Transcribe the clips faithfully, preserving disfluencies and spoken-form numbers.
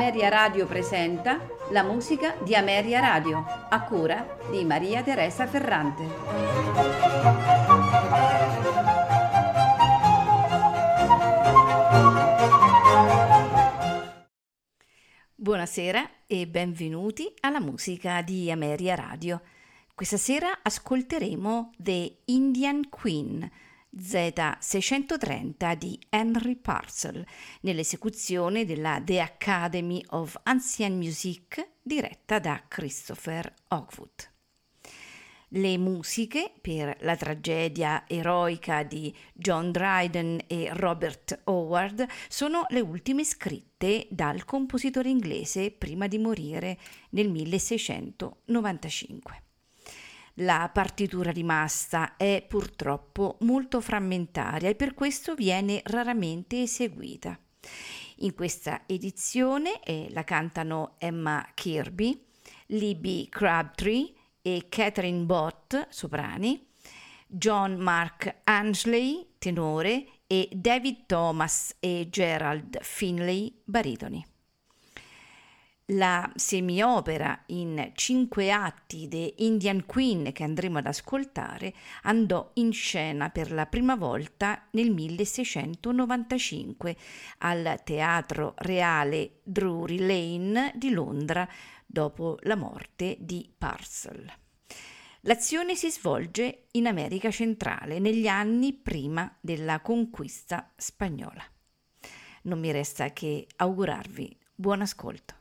Ameria Radio presenta la musica di Ameria Radio, a cura di Maria Teresa Ferrante. Buonasera e benvenuti alla musica di Ameria Radio. Questa sera ascolteremo The Indian Queen Z seicentotrenta di Henry Purcell nell'esecuzione della The Academy of Ancient Music diretta da Christopher Hogwood. Le musiche per la tragedia eroica di John Dryden e Robert Howard sono le ultime scritte dal compositore inglese prima di morire nel milleseicentonovantacinque. La partitura rimasta è purtroppo molto frammentaria e per questo viene raramente eseguita. In questa edizione eh, la cantano Emma Kirkby, Libby Crabtree e Catherine Bott, soprani, John Mark Angley, tenore, e David Thomas e Gerald Finley, baritoni. La semiopera in cinque atti The Indian Queen che andremo ad ascoltare andò in scena per la prima volta nel milleseicentonovantacinque al Teatro Reale Drury Lane di Londra dopo la morte di Purcell. L'azione si svolge in America centrale negli anni prima della conquista spagnola. Non mi resta che augurarvi buon ascolto.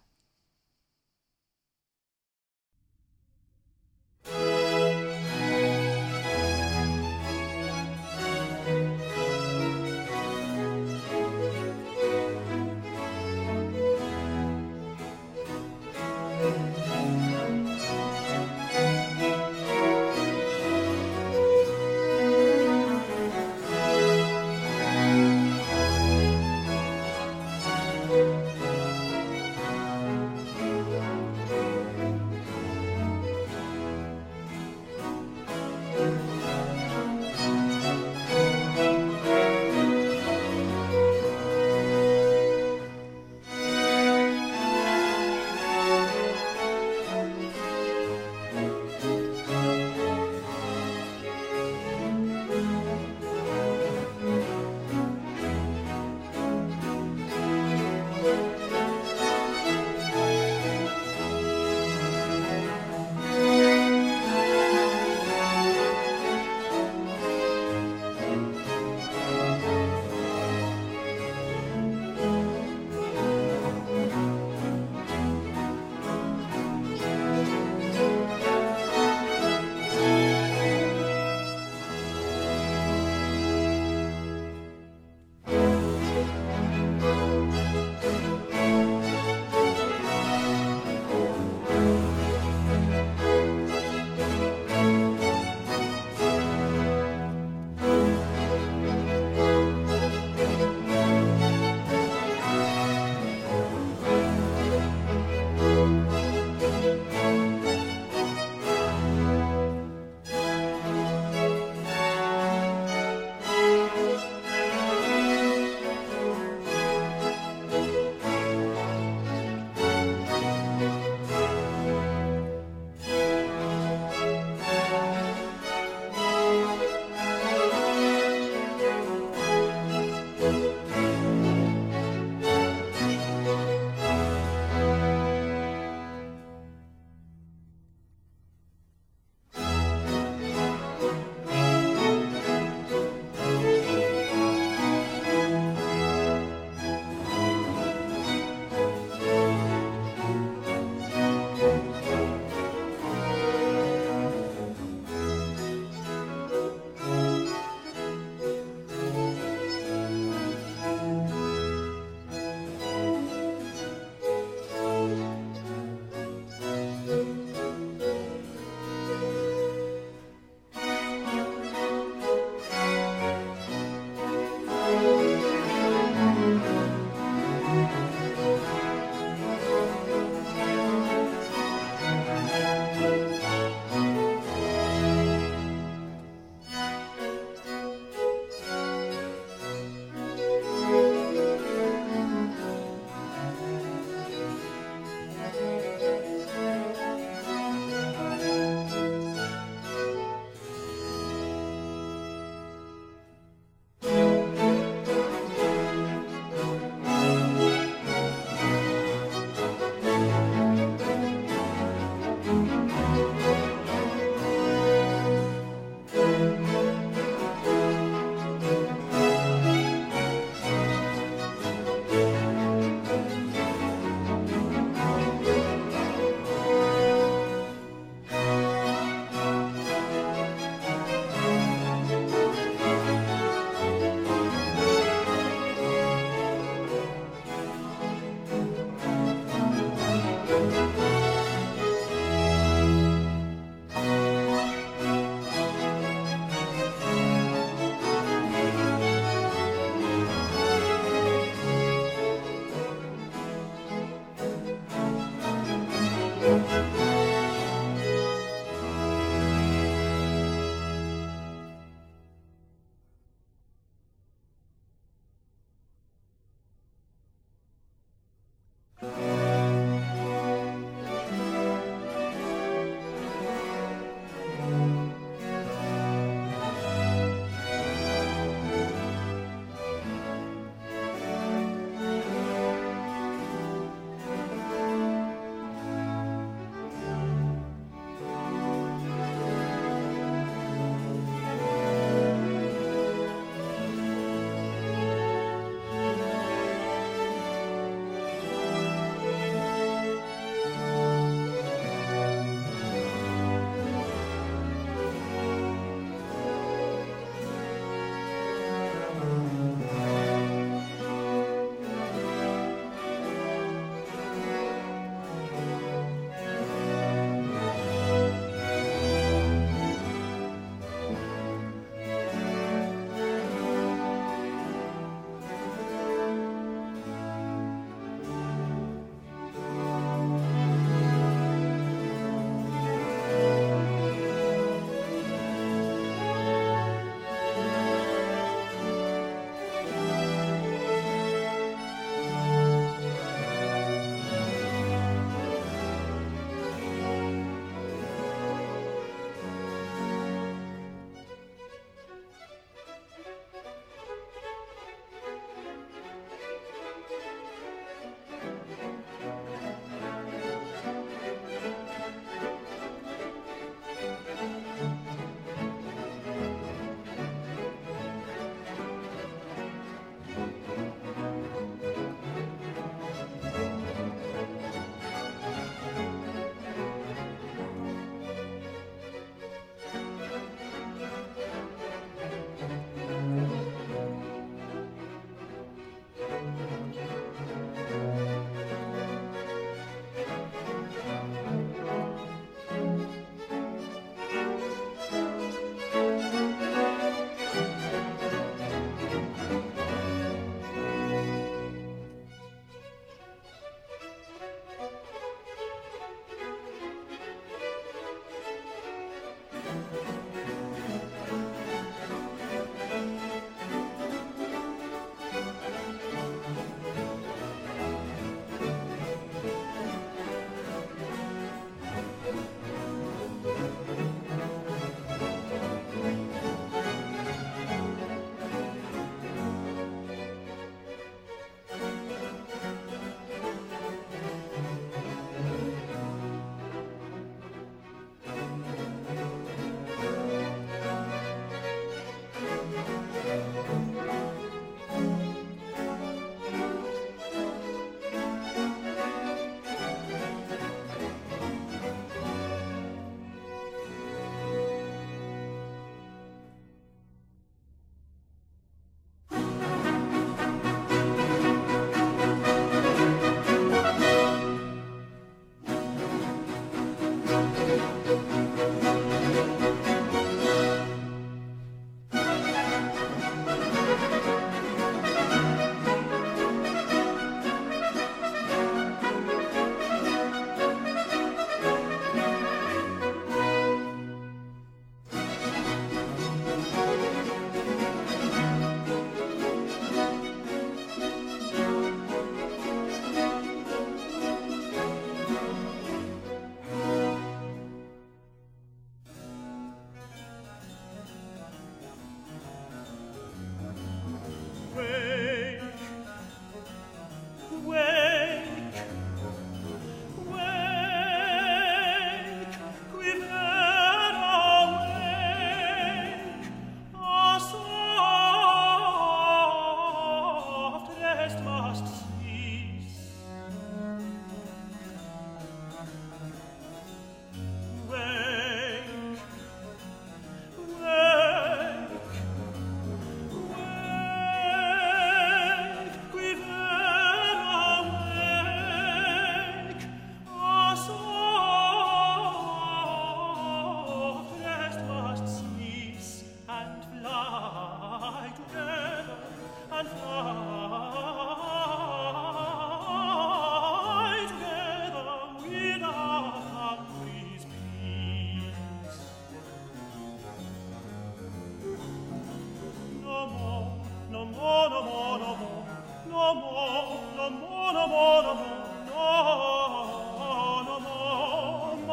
no more, no more, no more, no more, no more, no more,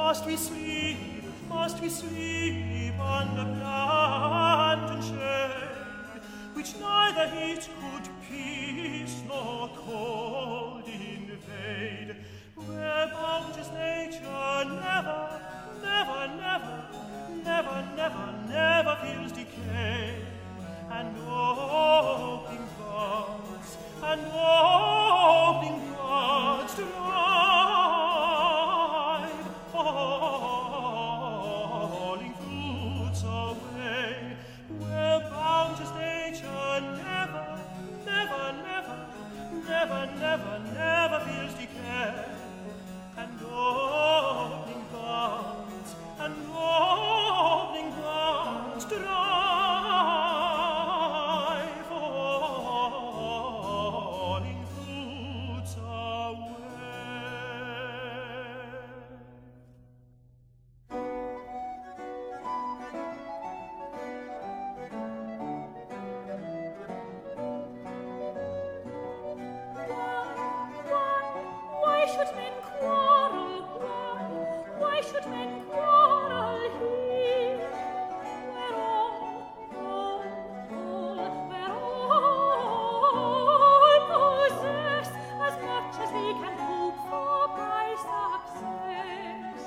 Must we sleep, must we sleep under plant and shade, which neither heat could peace nor cold invade, where bounteous nature never, never, never, never, never, never feels decay, and opening buds, and opening buds to life, falling fruits away, where bounteous nature never, never, never, never, never, never feels decay, and opening buds, and opening buds to life, falling fruits away. Why should men quarrel? Why? Why should men quarrel here? Where all, all, all, where all possess as much as they can hope for by success.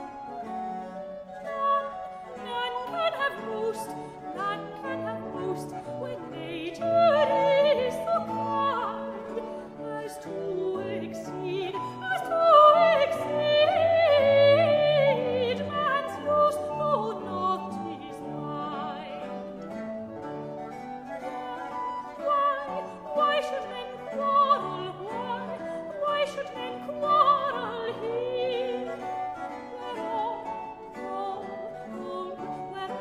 None, none can have most, none can have most when nature is so kind as to exceed, as to exceed man's use, though not his mind. Why, why should men quarrel? Why, why should men quarrel here? Where all, all, all, where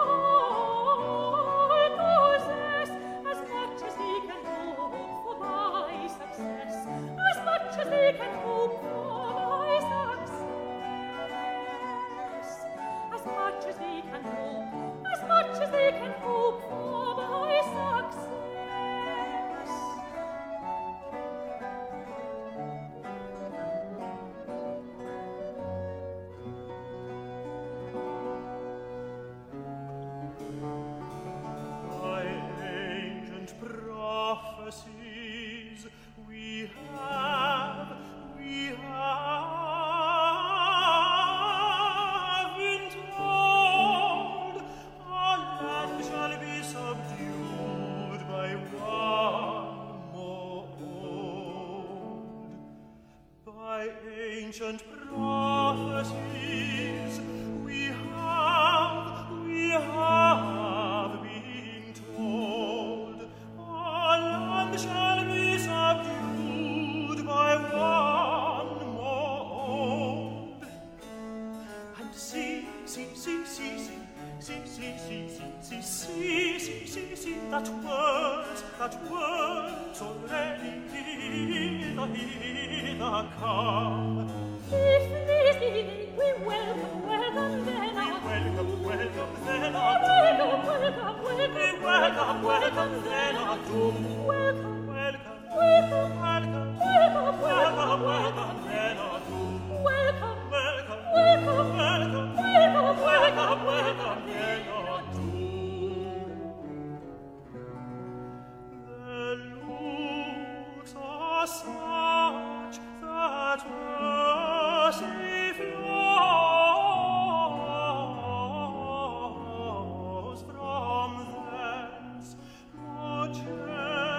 all possess as much as they can hope for by success, as much as they can hope for by success, as much as they can hope, as much as they can hope for by success. By ancient prophecies we have, we have been told our land shall be subdued by one more old. By ancient prophecies we have, we have been told our land shall be subdued by one more old. And see, see, see, see, see, see, see, see, see, see, see, see, see, see, that words, that words already hither, hither come. If these be we welcome, welcome then We our welcome, welcome then Oh, our welcome, welcome, We welcome, welcome, welcome then our doom. welcome, Welcome, welcome, welcome, welcome, welcome, welcome then our doom. welcome, Welcome, welcome, welcome, welcome, welcome, welcome then our doom. The looks are such that mercy flows from thence, more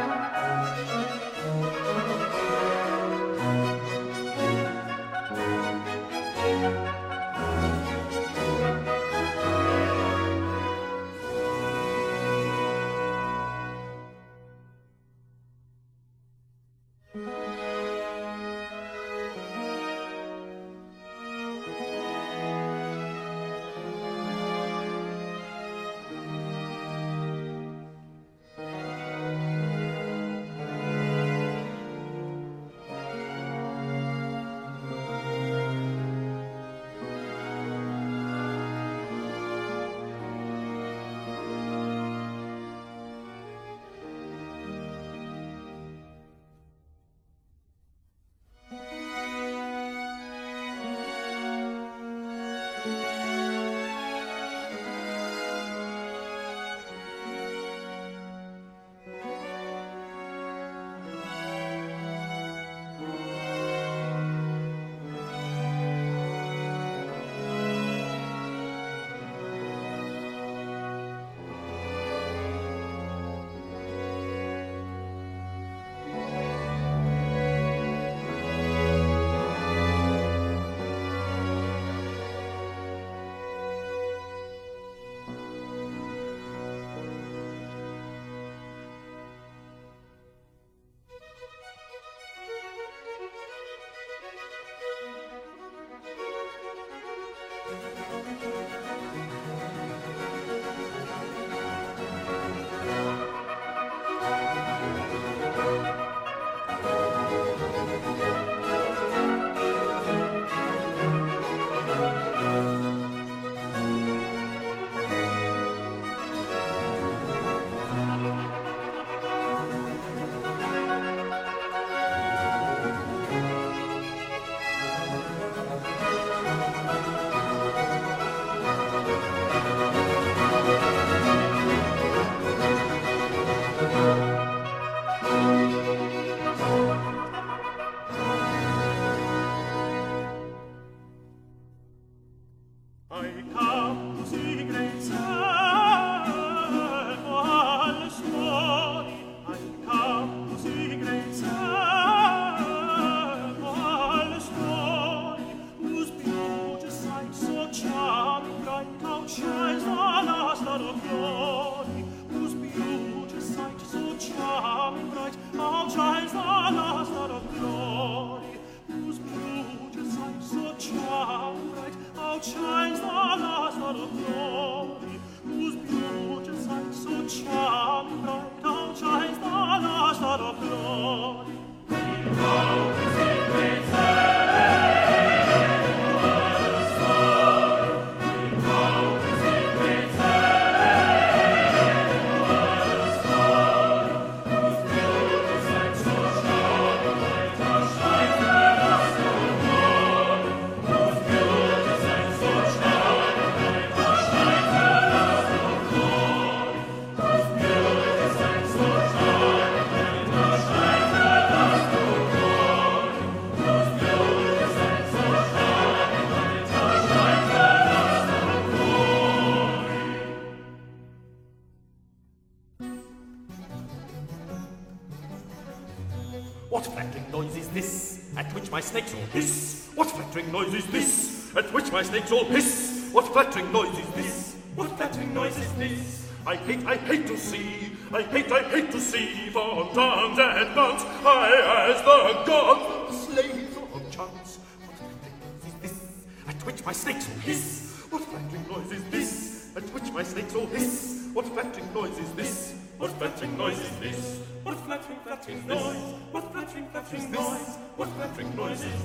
What flattering noise is this, at which my snakes all hiss? What flattering noise is this, at which my snakes all hiss? What flattering noise is this? What flattering noise is this? I hate, I hate to see, I hate, I hate to see fontans and nuns, high as the gods, slaves of chance. What flattering noise is this, at which my snakes all hiss? What flattering noise is this, at which my snakes all hiss? What flattering noise is this? What flattering noise is this? What flattering, flattering noise? What flattering, flattering noise? What flattering noise is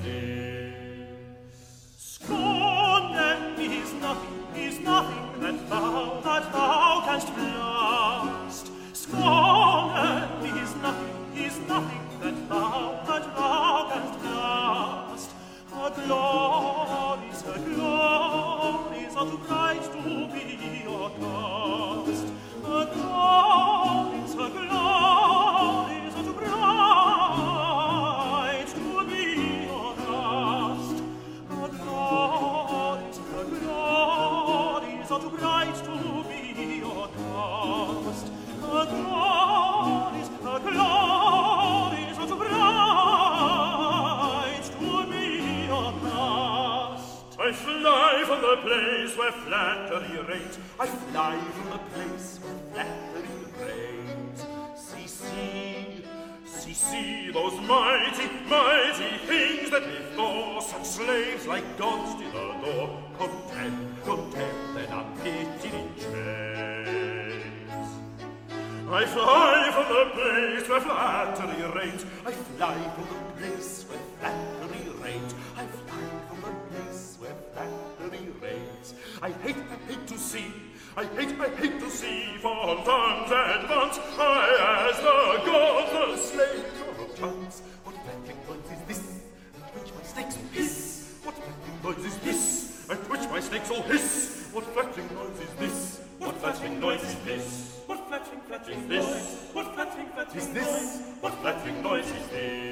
this? Scorn then is nothing, is nothing that thou, that thou canst blast. Scorn then is nothing, is nothing that thou, that thou canst blast. Her glories, her glories are too bright to be your cast. Her glories, her glories are too bright to be your cast. Her glories, her glories place where flattery reigns. I fly from the place where flattery reigns. See, see, see, see those mighty, mighty things that before such slaves like gods did adore. Content, content, and unpitied in chains. I fly from the place where flattery reigns. I fly from the place where flattery reigns. I fly from the place where flattery reigns. I hate, I hate to see, I hate, I hate to see fontans and fonts. I, as the gods, the slaves of chance. What flattering noise is this, at which my snakes will hiss? What flattering noise is this, at which my snakes will hiss? What flattering noise is this? What flattering noise is this? What flattering, flattering noise? What flattering, flattering noise? What flattering noise is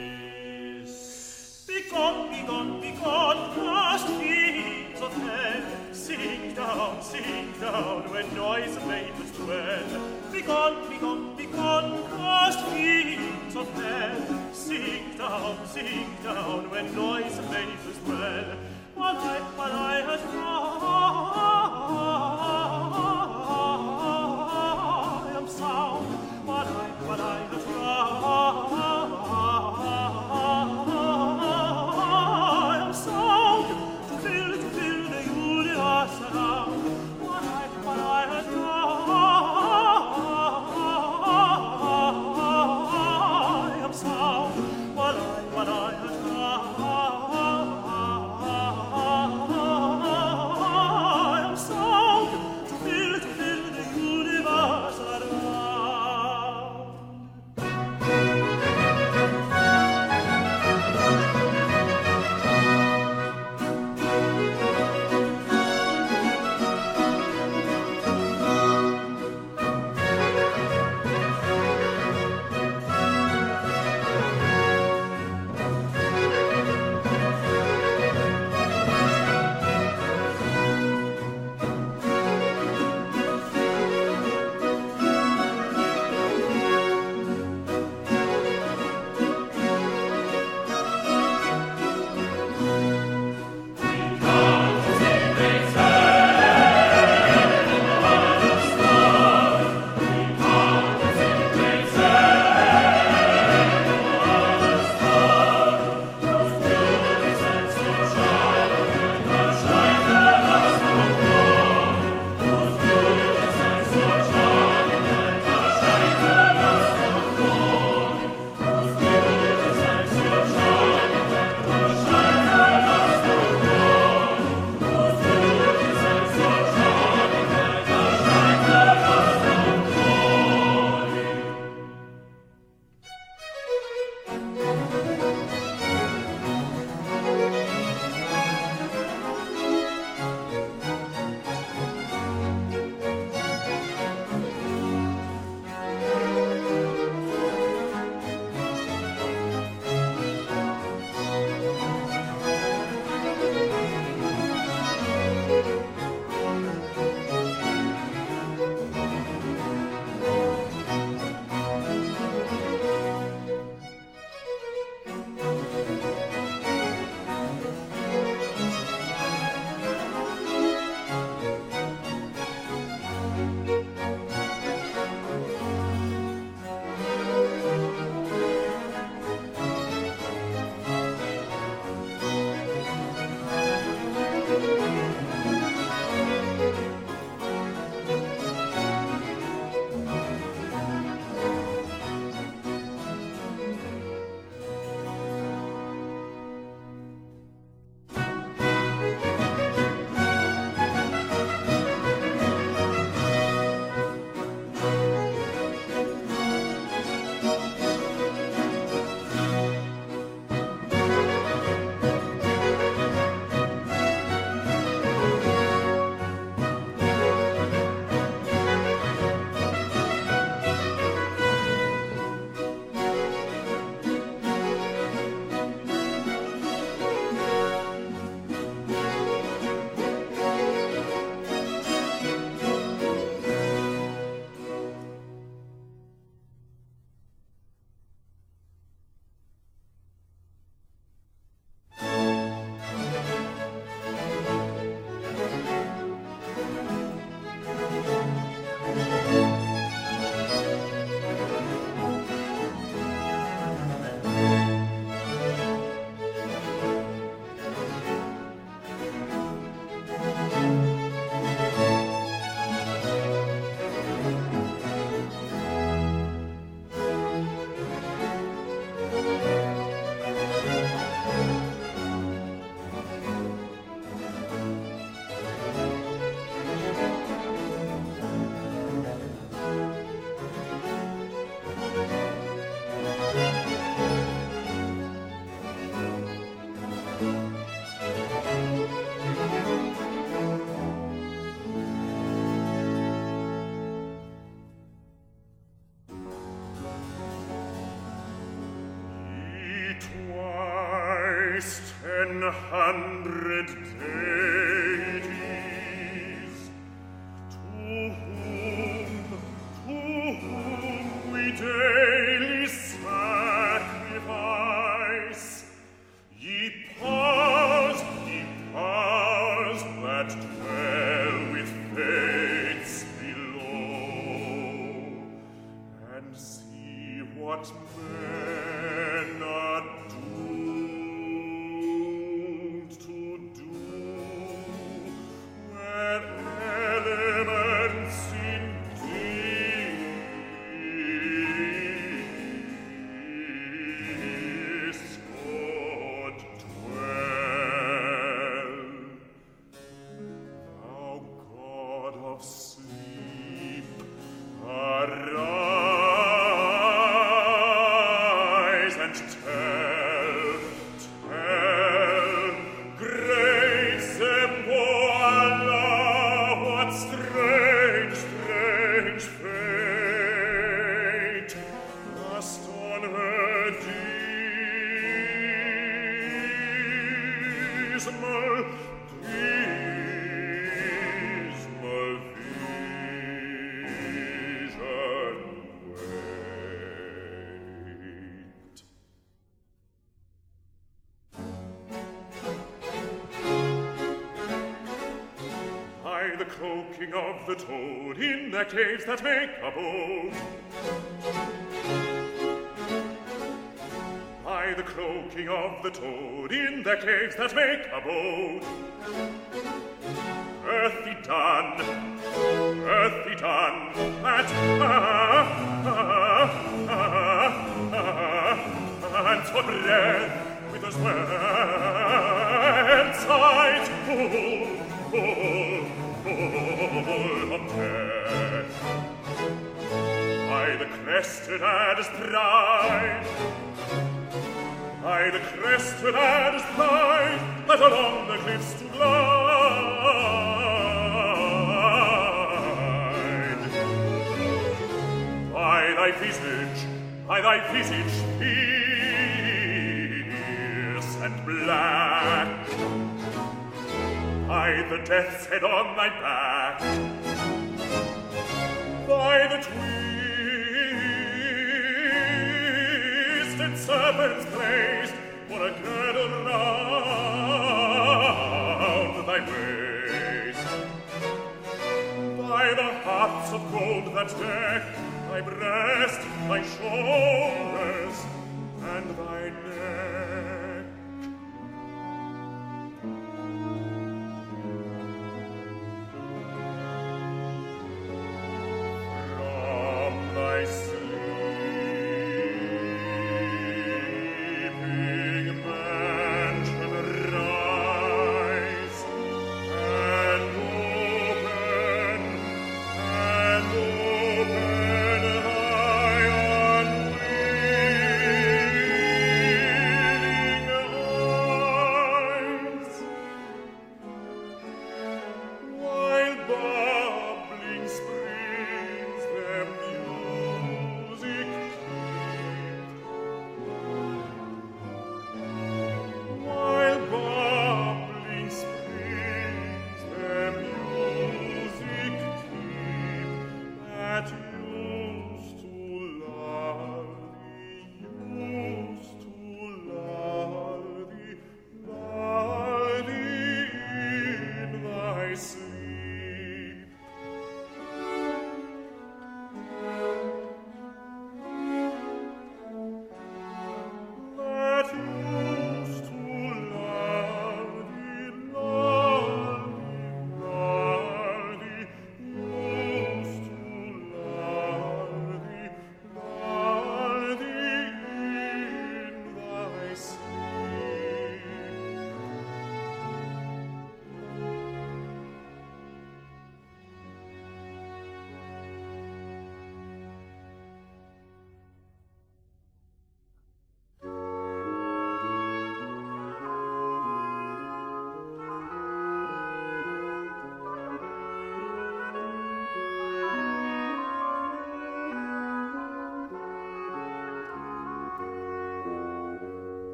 this? Begone, begone, begone, last fields of hell. Sink down, sink down, where noise and vapors dwell. Begone, begone, begone, last fields of hell. Sink down, sink down, where noise and vapors dwell. While I, while I had I am sound, while I, while I had I am sound, to fill, to fill the universe around. While I, while I had I am sound, while I, while I had twice ten hundred deities, to whom, to whom we daily sacrifice, ye powers, ye powers that dwell with fates below, and see what men are doomed to do, where elements indeed discord dwell. Thou God of sleep, arise and tell, tell, great Zemboala, what strange, strange fate must on her dismal, dismal vision wait. By the croaking of the toad in the caves that make abode, by the croaking of the toad in the caves that make abode, earthy dun, earthy dun, that ah, ah, ah, ah, and for breath with a sweat sight full, full, full of death. By the crested adder's pride, by the crested adder's pride, that along the cliffs to glide. By thy visage, by thy visage fierce and black, by the death's head on thy back, by the twisted serpent's place, for a girdle round thy waist, by the hearts of gold that deck thy breast, thy shoulders, and thy neck. From thy sleeping mansion rise, and open, and open thy unwearied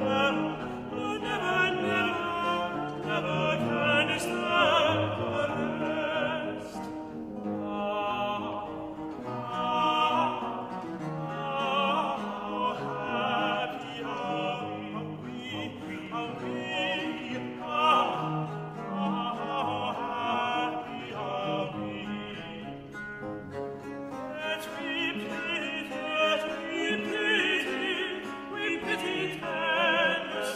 Let we pity, let we pity, tender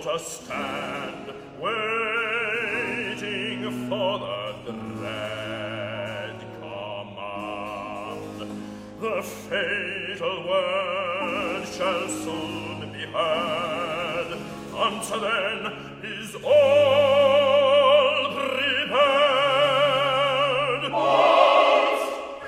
to stand, waiting for the dread command. The fatal word shall soon be heard. Until then is all prepared. All's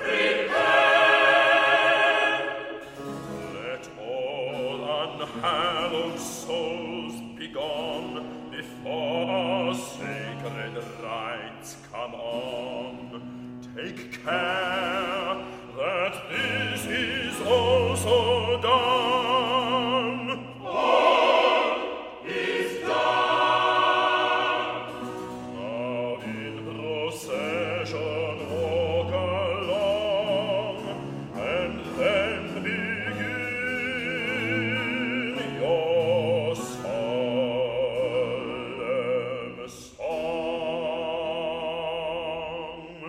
prepared. Let all unhallowed souls be gone before sacred rites come on. Take care that this is also done. All is done. Now in procession walk along, and then begin your solemn song.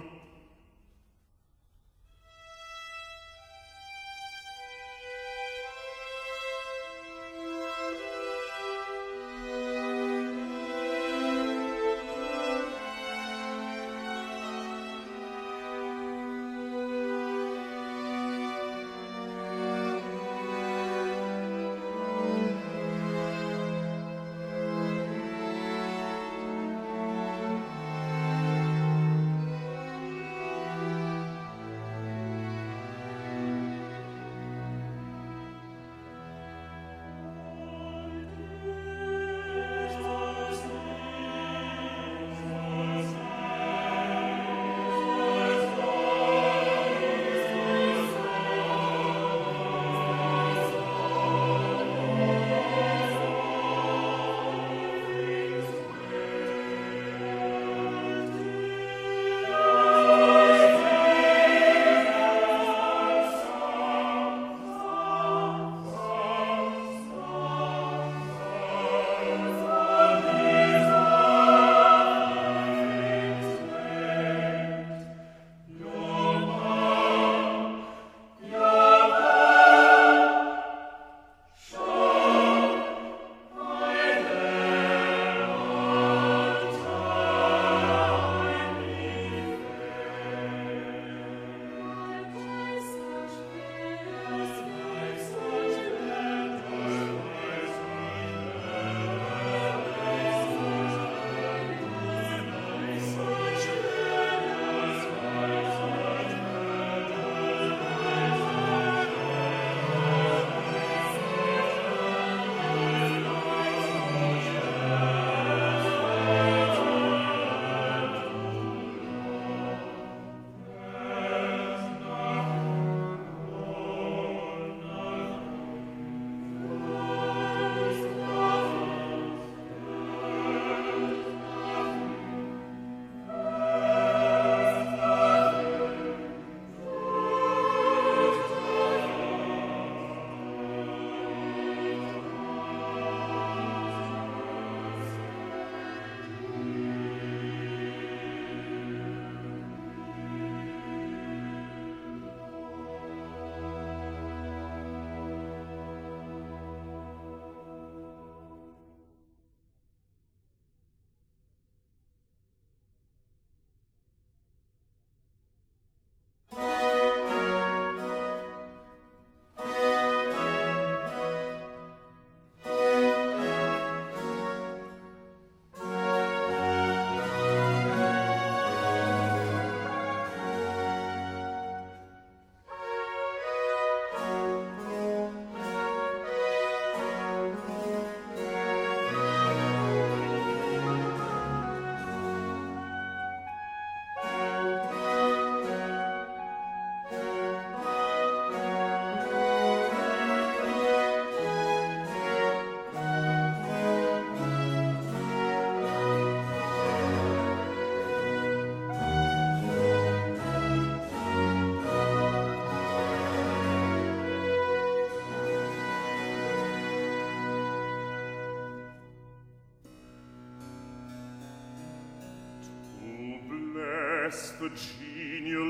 bless the genial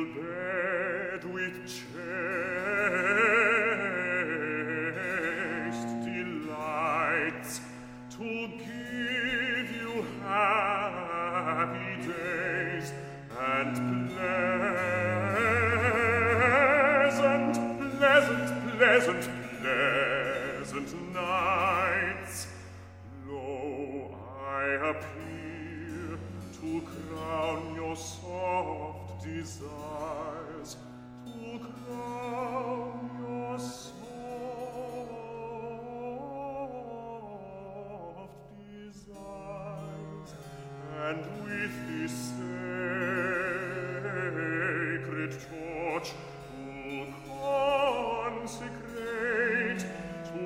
bed with chaste delights to give pleasant nights. Lo, I appear to crown your soft desires, to crown your soft desires, and with this sacred torch to consecrate, to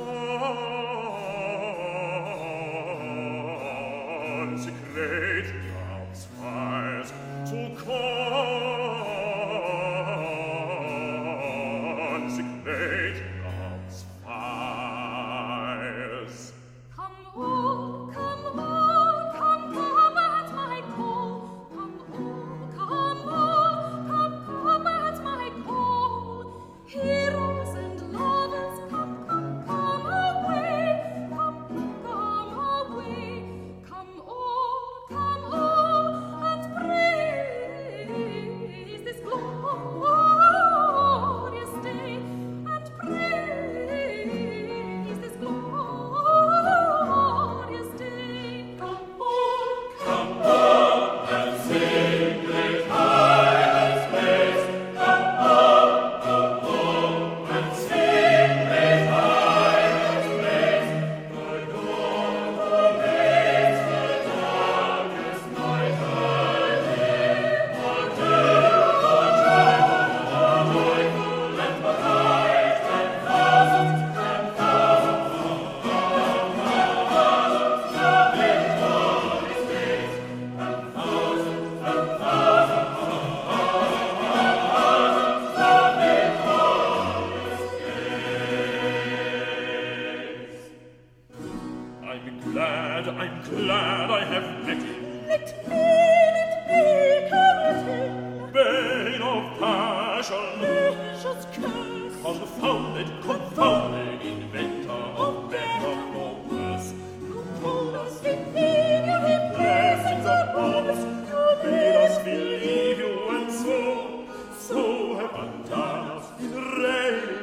consecrate love's fires, to consecrate love's fires. Come all, come all, come, come at my call. Come all, come all, come, come at my call. Heroes and lovers, come, come, come away. Come, come away. Come all, come all, and praise this glorious day, and praise this glorious day. Come all, Come all and sing great highest praise. Come all, come all and sing great highest praise. The dawn pervades the darkest night early. More joyful, more joyful and bright than thousands and thousands of victorious days, and thousands and thousands of victorious days. I'm glad, I'm glad I have met him, let me, let me come at him. bane of passion, Precious curse, confounded, confounded inventor of better or worse. who told us in him you have blessings upon us, you Made us believe you, and so, so have undone us in rain.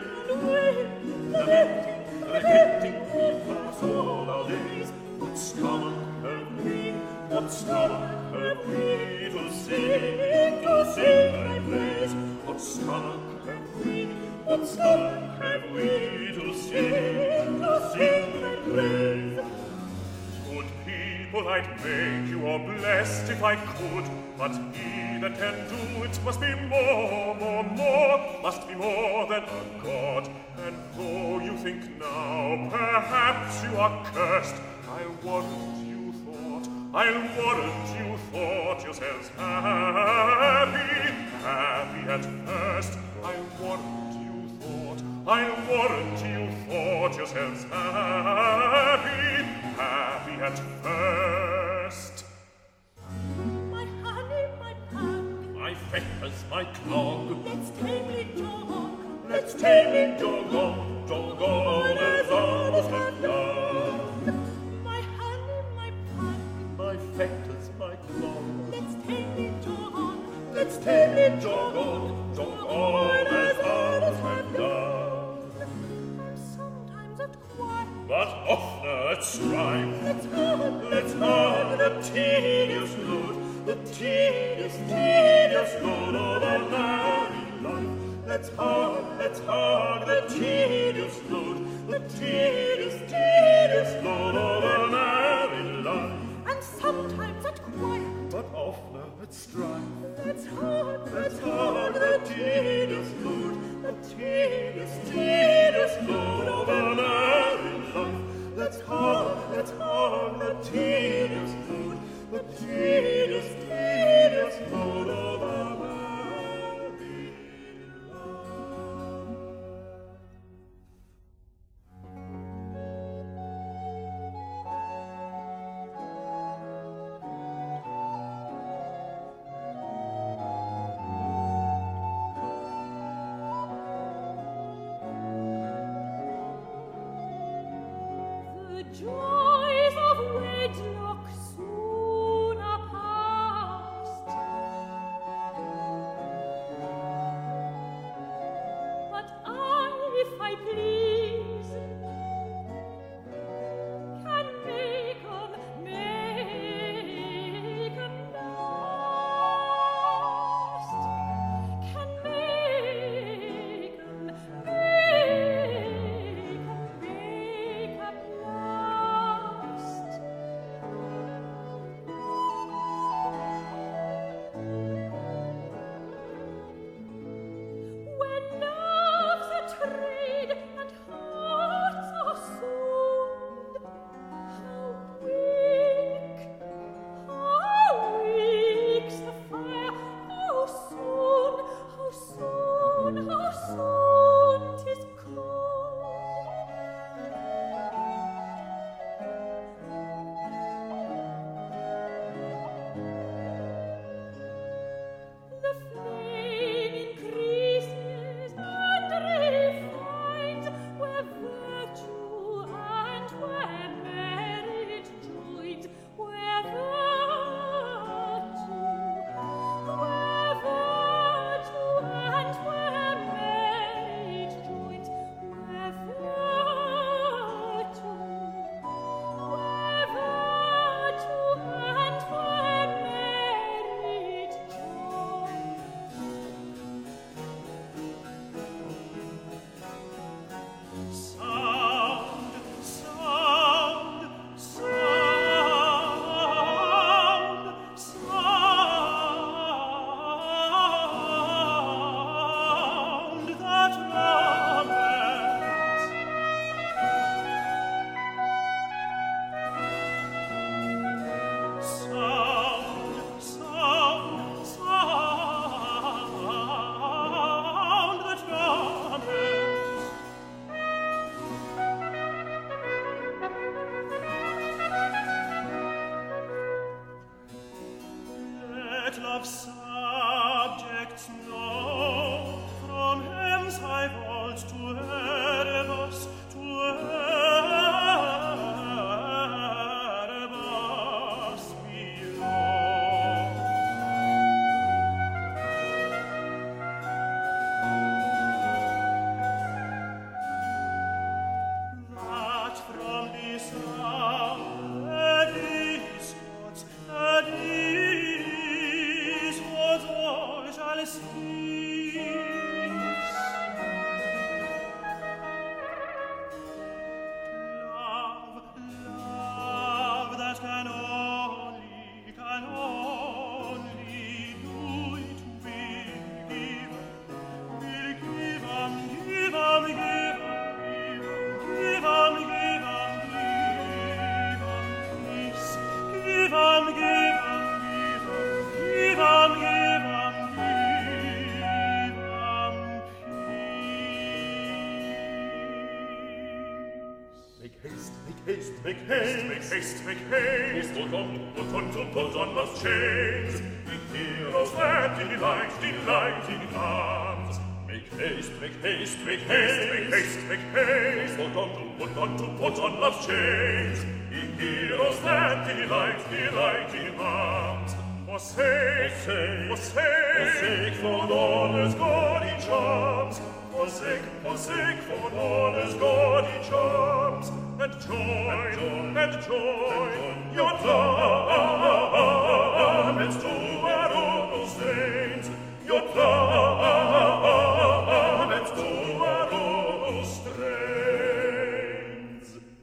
Lamenting, repenting, we pass all our days. What stomach have we, what stomach have we to sing, to sing thy praise? What stomach have we, what stomach have we to sing, to sing thy praise? Good people, I'd make you all blessed if I could, but he that can do it must be more, more, more, must be more than a god. And though you think now perhaps you are cursed, I warrant you thought, I'll warrant you thought yourselves happy, happy at first. I warrant you thought, I warrant you thought yourselves happy, happy at first. my honey, my pug, My fetters, my clog, let's tamely jog. let's tamely jog on, jog on as others have done. My honey, my pug, My fetters, my clog, let's tamely jog. let's tamely jog on, jog on as others have done. I'm sometimes at quiet, But oftener at strife, let's hug, let's hug the tedious load, the tedious, tedious load of a married life. Let's hug, let's hug the tedious load, the tedious, tedious load of a married life. and sometimes at quiet, But oftener at strife, let's hug, let's hug the tedious load, the tedious, tedious load of a married life. Let's hug, let's hug the tedious load, the tedious, tedious load of a married life. the joys of wedlock soon are past. But I, if I please, Let love's subjects know from hence I vault to Erebus, to Erebus below. That from this hour these gods, that these gods all shall cease. Love, love that can only, can only do it will give, will give and give and give and give and give and give and peace, give and give and give and give and give and give and peace. Make haste, make haste, make haste, make haste, make haste. Put on, put on, to put on those chains. The heroes that delight, delight in arms. Make haste, make haste, make haste, make haste, make haste. Put on, to put on, to put on those chains. The heroes that delight, delight in arms. Forsake, forsake, forsake for honor's gaudy charms. Forsake, forsake for honor's gaudy charms. And join, and join your garments to our own strains. Your garments to our own strains.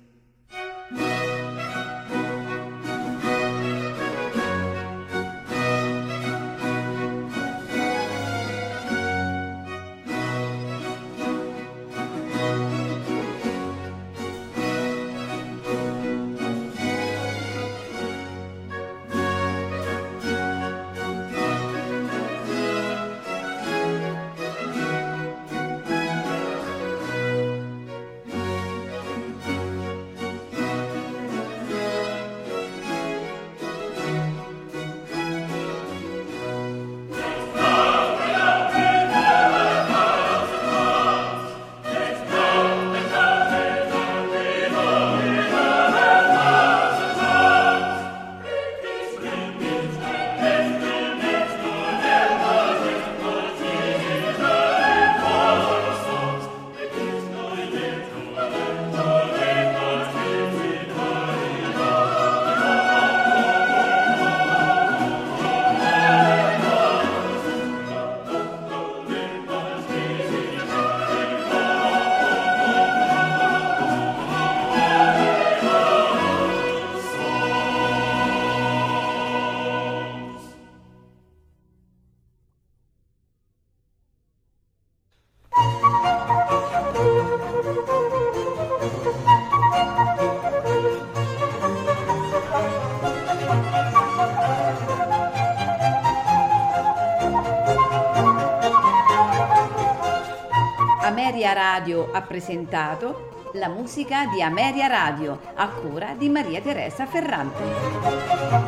Ameria Radio ha presentato la musica di Ameria Radio a cura di Maria Teresa Ferrante.